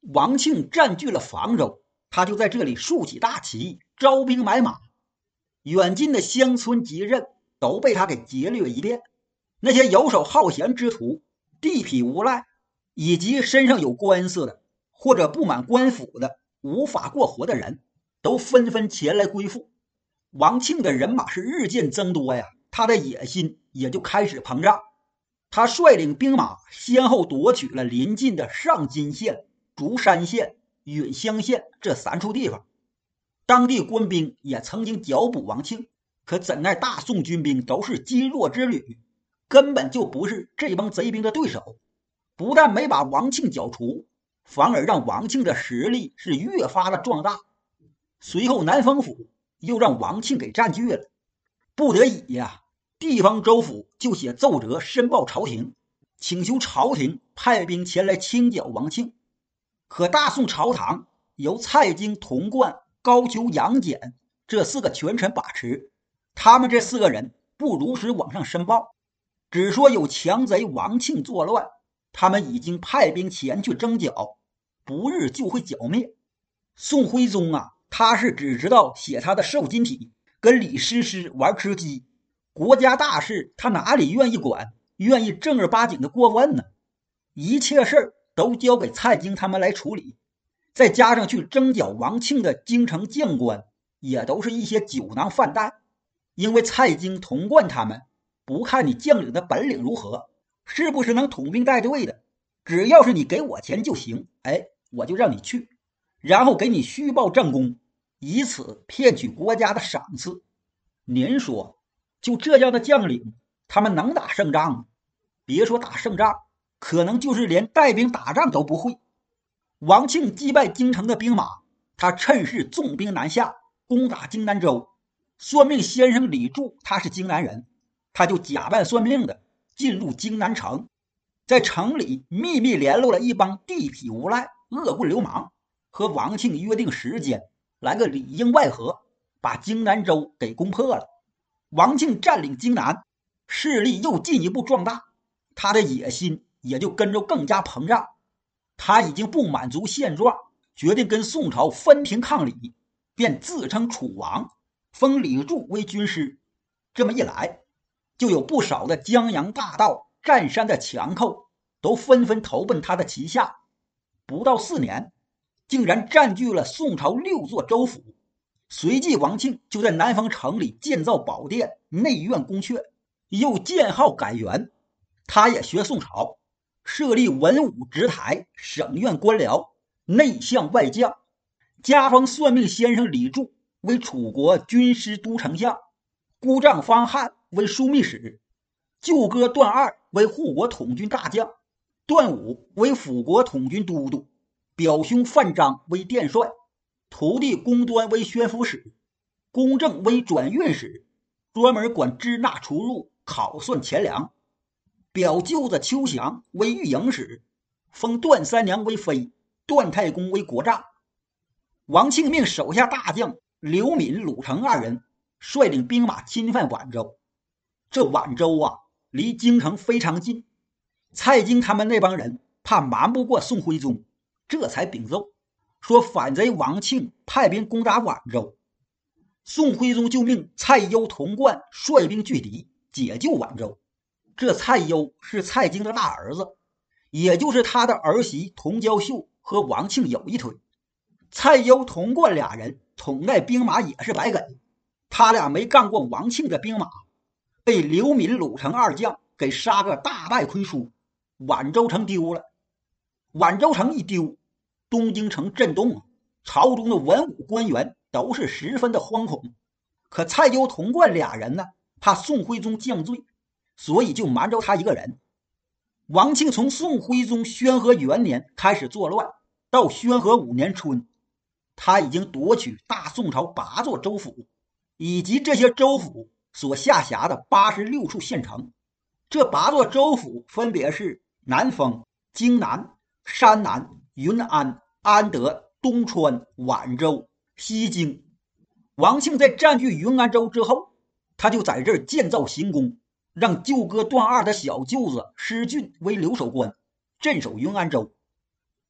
王庆占据了房州，他就在这里竖起大旗，招兵买马，远近的乡村集镇都被他给劫掠一遍。那些游手好闲之徒、地痞无赖，以及身上有官司的或者不满官府的无法过活的人，都纷纷前来归附。王庆的人马是日渐增多呀，他的野心也就开始膨胀。他率领兵马先后夺取了邻近的上金县、竹山县、允乡县这3处地方。当地官兵也曾经剿捕王庆，可怎奈大宋军兵都是积弱之旅，根本就不是这帮贼兵的对手。不但没把王庆剿除，反而让王庆的实力是越发的壮大。随后南丰府又让王庆给占据了，不得已呀，地方州府就写奏折申报朝廷，请求朝廷派兵前来清剿王庆。可大宋朝堂由蔡京、童贯、高俅、杨戬这4个权臣把持，他们这4个人不如实往上申报，只说有强贼王庆作乱，他们已经派兵前去征剿，不日就会剿灭。宋徽宗啊，他是只知道写他的瘦金体，跟李师师玩吃鸡，国家大事他哪里愿意管，愿意正儿八经的过问呢？一切事都交给蔡京他们来处理。再加上去征剿王庆的京城将官，也都是一些酒囊饭袋。因为蔡京、童贯他们不看你将领的本领如何，是不是能统兵带队的，只要是你给我钱就行，我就让你去，然后给你虚报战功，以此骗取国家的赏赐。您说就这样的将领，他们能打胜仗吗？别说打胜仗，可能就是连带兵打仗都不会。王庆击败京城的兵马，他趁势纵兵南下，攻打荆南州。算命先生李柱他是荆南人，他就假扮算命的进入荆南城，在城里秘密联络了一帮地痞无赖、恶棍流氓，和王庆约定时间，来个里应外合，把荆南州给攻破了。王庆占领荆南，势力又进一步壮大，他的野心也就跟着更加膨胀。他已经不满足现状，决定跟宋朝分庭抗礼，便自称楚王，封李柱为军师。这么一来，就有不少的江洋大盗、占山的强寇都纷纷投奔他的旗下。不到4年，竟然占据了宋朝6座州府。随即王庆就在南方城里建造宝殿、内院宫阙，又建号改元。他也学宋朝，设立文武职台、省院官僚、内相外将，加封算命先生李柱为楚国军师都丞相，姑丈方翰为枢密使，舅哥段二为护国统军大将，段武为辅国统军都督，表兄范章为殿帅，徒弟公端为宣抚使，公正为转运使，专门管支纳出入、考算钱粮。表舅子邱祥为御营使，封段三娘为妃，段太公为国丈。王庆命手下大将刘敏、鲁成2人率领兵马侵犯宛州。这宛州啊，离京城非常近，蔡京他们那帮人怕瞒不过宋徽宗，这才禀奏说反贼王庆派兵攻打宛州。宋徽宗就命蔡攸、童贯率兵拒敌，解救宛州。这蔡攸是蔡京的大儿子，也就是他的儿媳童娇秀和王庆有一腿。蔡攸、童贯俩人统带兵马也是白给，他俩没干过王庆的兵马，被刘敏、鲁成2将给杀个大败亏输，宛州城丢了。宛州城一丢，东京城震动，朝中的文武官员都是十分的惶恐。可蔡攸、童贯俩人呢，怕宋徽宗降罪，所以就瞒着他一个人。王庆从宋徽宗宣和元年开始作乱，到宣和5年春，他已经夺取大宋朝8座州府，以及这些州府所下辖的86处县城。这8座州府分别是南丰、荆南、山南、云安、安德、东川、宛州、西京。王庆在占据云安州之后，他就在这儿建造行宫，让舅哥段二的小舅子施俊为留守官，镇守云安州。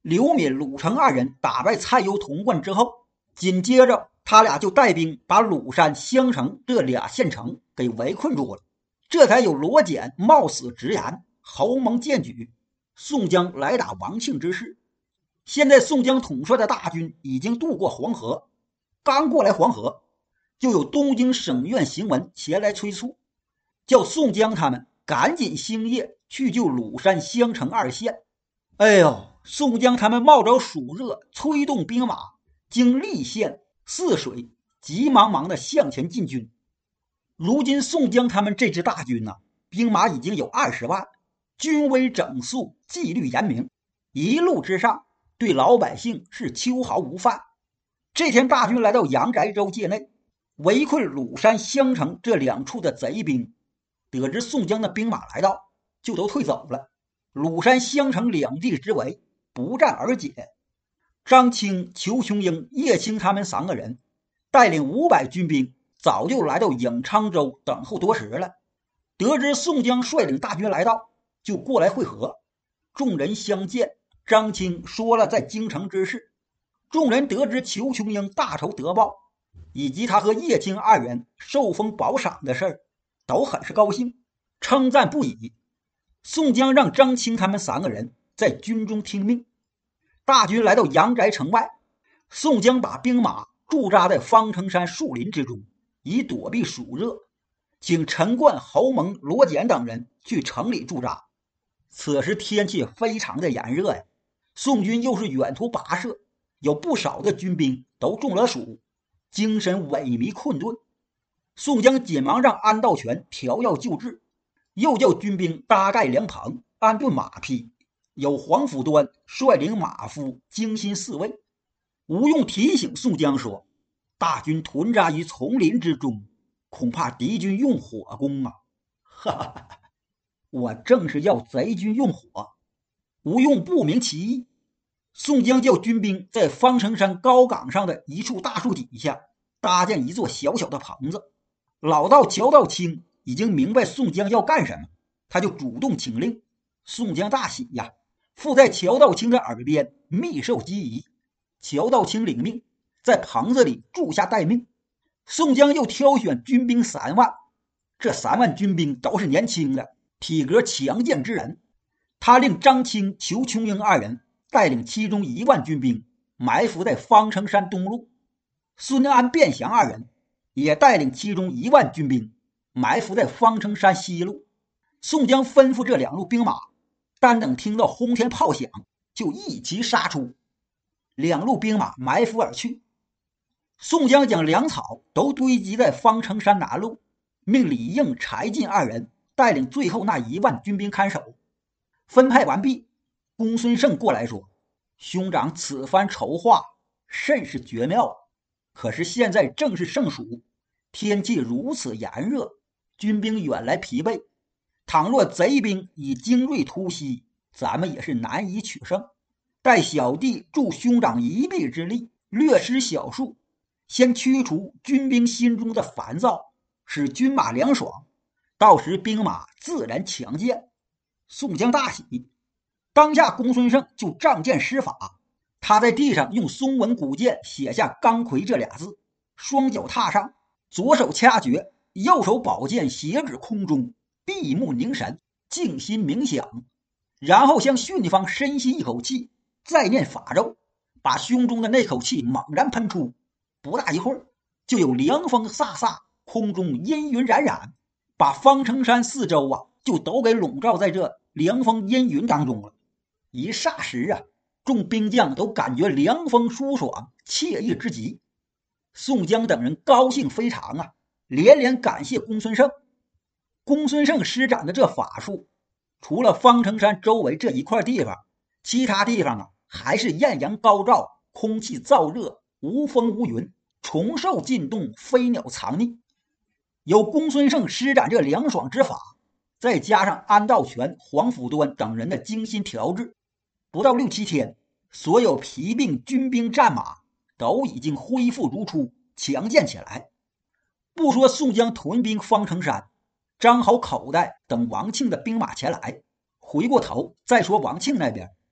刘敏、鲁成二人打败蔡攸、童贯之后，紧接着他俩就带兵把鲁山、襄城这俩县城给围困住了，这才有罗简冒死直言侯蒙荐举，宋江来打王庆之事。现在宋江统帅的大军已经渡过黄河，刚过来黄河，就有东京省院行文前来催促，叫宋江他们赶紧星夜去救鲁山、襄城二县。哎呦，宋江他们冒着暑热，催动兵马，经溧县、泗水，急忙忙的向前进军。如今宋江他们这支大军兵马已经有20万，军威整肃，纪律严明，一路之上对老百姓是秋毫无犯。这天大军来到阳翟州界内，围困鲁山、襄城这两处的贼兵，得知宋江的兵马来到，就都退走了。鲁山、襄城两地之围不战而解。张清、裘琼英、叶青他们3个人带领500军兵早就来到颍昌州等候多时了。得知宋江率领大军来到，就过来会合。众人相见，张清说了在京城之事。众人得知裘琼英大仇得报，以及他和叶青2人受封宝赏的事，都很是高兴，称赞不已。宋江让张清他们3个人在军中听命。大军来到阳翟城外，宋江把兵马驻扎在方城山树林之中，以躲避暑热，请陈冠、侯蒙、罗简等人去城里驻扎。此时天气非常的炎热呀，宋军又是远途跋涉，有不少的军兵都中了暑，精神萎靡困顿。宋江紧忙让安道全调药救治，又叫军兵搭盖凉棚，安顿马匹，有黄甫端率领马夫精心侍卫。吴用提醒宋江说，大军屯扎于丛林之中，恐怕敌军用火攻啊！哈哈，我正是要贼军用火。吴用不明其意。宋江叫军兵在方城山高岗上的一处大树底下搭建一座小小的棚子。老道乔道清已经明白宋江要干什么，他就主动请令。宋江大喜呀，附在乔道清的耳边密授机宜。乔道清领命，在棚子里住下待命。宋江又挑选军兵3万，这3万军兵都是年轻的，体格强健之人。他令张清、裘琼英2人带领其中1万军兵埋伏在方城山东路，孙安、卞祥2人也带领其中1万军兵埋伏在方城山西路。宋江吩咐这2路兵马，单等听到轰天炮响，就一齐杀出。2路兵马埋伏而去。宋江将粮草都堆积在方城山南路，命李应、柴进2人带领最后那1万军兵看守。分派完毕，公孙胜过来说，兄长此番筹划甚是绝妙，可是现在正是盛暑，天气如此炎热，军兵远来疲惫，倘若贼兵以精锐突袭，咱们也是难以取胜。待小弟助兄长一臂之力，略施小术，先驱除军兵心中的烦躁，使军马凉爽，到时兵马自然强健。宋江大喜，当下公孙胜就仗剑施法。他在地上用松纹古剑写下钢魁这俩字，双脚踏上，左手掐诀，右手宝剑斜指空中，闭目凝神，静心冥想，然后向巽方深吸一口气，再念法咒，把胸中的那口气猛然喷出。不大一会儿，就有凉风飒飒，空中阴云冉冉，把方城山四周就都给笼罩在这凉风阴云当中了。一霎时众兵将都感觉凉风舒爽，惬意之极。宋江等人高兴非常连连感谢公孙胜。公孙胜施展的这法术，除了方城山周围这一块地方，其他地方还是艳阳高照，空气燥热，无风无云，虫兽进动，飞鸟藏匿。有公孙胜施展这凉爽之法，再加上安道全、黄甫端等人的精心调制，不到6、7天，所有疲病军兵战马都已经恢复如初，强健起来。不说宋江屯兵方城山，张豪口袋等王庆的兵马前来，回过头再说王庆那边，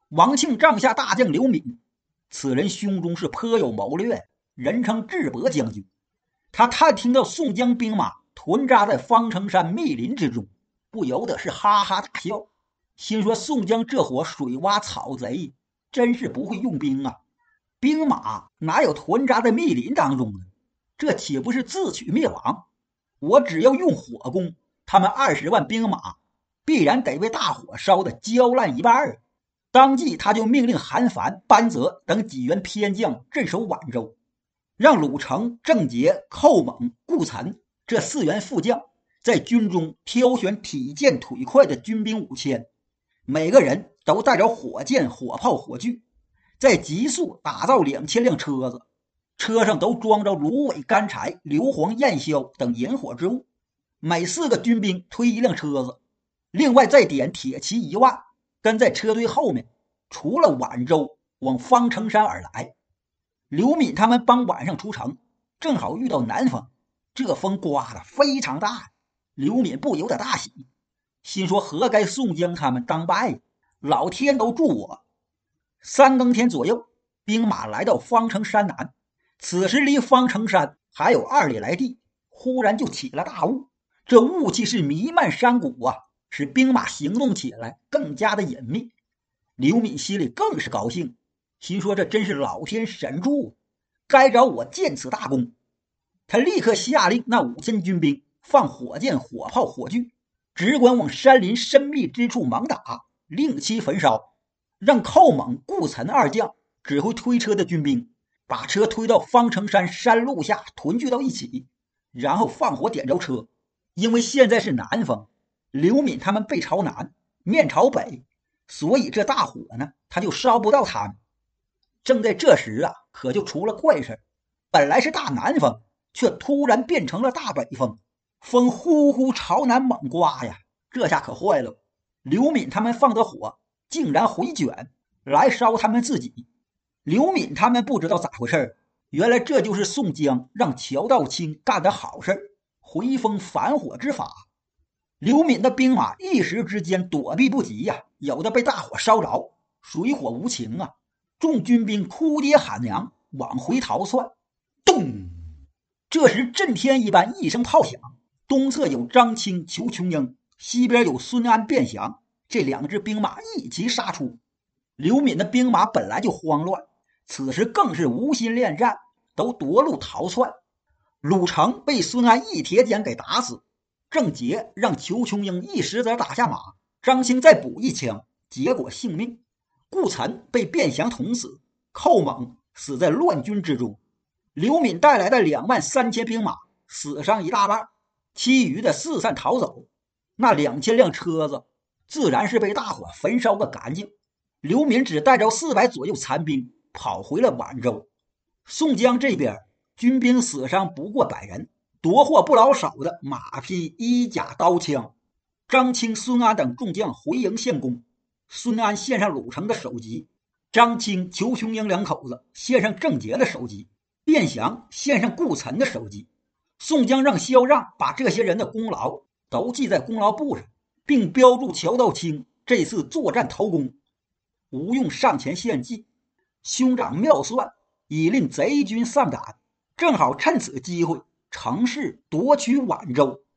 王庆帐下大将刘敏，此人胸中是颇有谋略，人称智伯将军。他探听到宋江兵马屯扎在方城山密林之中，不由得是哈哈大笑，心说宋江这伙水洼草贼真是不会用兵啊！兵马哪有屯扎在密林当中呢？这岂不是自取灭亡？我只要用火攻，他们20万兵马必然得被大火烧得焦烂一半。当即他就命令韩凡、班泽等几员偏将镇守宛州，让鲁成、郑捷、寇猛、顾岑这4员副将在军中挑选体健腿快的军兵5000，每个人都带着火箭、火炮、火炬，再急速打造2000辆车子，车上都装着芦苇、干柴、硫磺、焰硝等引火之物，每4个军兵推1辆车子，另外再点铁骑1万，跟在车队后面，除了宛州往方城山而来。刘敏他们帮晚上出城，正好遇到南风，这风刮得非常大，刘敏不由得大喜，心说何该宋江他们当败，老天都助我。3更天左右，兵马来到方城山南，此时离方城山还有2里来地，忽然就起了大雾，这雾气是弥漫山谷啊，使兵马行动起来更加的隐秘。刘敏心里更是高兴，心说这真是老天神助，该找我建此大功。他立刻下令那5000军兵放火箭、火炮、火炬，只管往山林深密之处猛打，令其焚烧，让寇猛、顾岑2将指挥推车的军兵把车推到方城山山路下屯聚到一起，然后放火点着车。因为现在是南风，刘敏他们背朝南，面朝北，所以这大火呢，他就烧不到他们。正在这时啊，可就出了怪事，本来是大南风，却突然变成了大北风，风呼呼朝南猛刮呀，这下可坏了。刘敏他们放的火竟然回卷来烧他们自己。刘敏他们不知道咋回事，原来这就是宋江让乔道清干的好事，回风反火之法。刘敏的兵马一时之间躲避不及呀，有的被大火烧着，水火无情啊！众军兵哭爹喊娘，往回逃窜。咚！这时震天一般一声炮响，东侧有张清、裘琼英，西边有孙安、卞祥，这2支兵马一齐杀出。刘敏的兵马本来就慌乱，此时更是无心恋战，都夺路逃窜。鲁成被孙安一铁锏给打死，郑捷让裘琼英一石子打下马，张清再补1枪，结果性命。顾岑被卞祥捅死，寇猛死在乱军之中。刘敏带来的23000兵马死伤一大半，其余的四散逃走。那2000辆车子自然是被大火焚烧个干净。刘敏只带着400左右残兵跑回了宛州。宋江这边军兵死伤不过100人，夺获不老少的马匹、衣甲、刀枪。张清、孙安等众将回营献功，孙安献上鲁成的首级，张清、裘琼英2口子献上郑捷的首级，卞祥献上顾岑的首级。宋江让萧让把这些人的功劳都记在功劳簿上，并标注乔道清这次作战头功。吴用上前献计，兄长妙算，以令贼军丧胆，正好趁此机会乘势夺取宛州。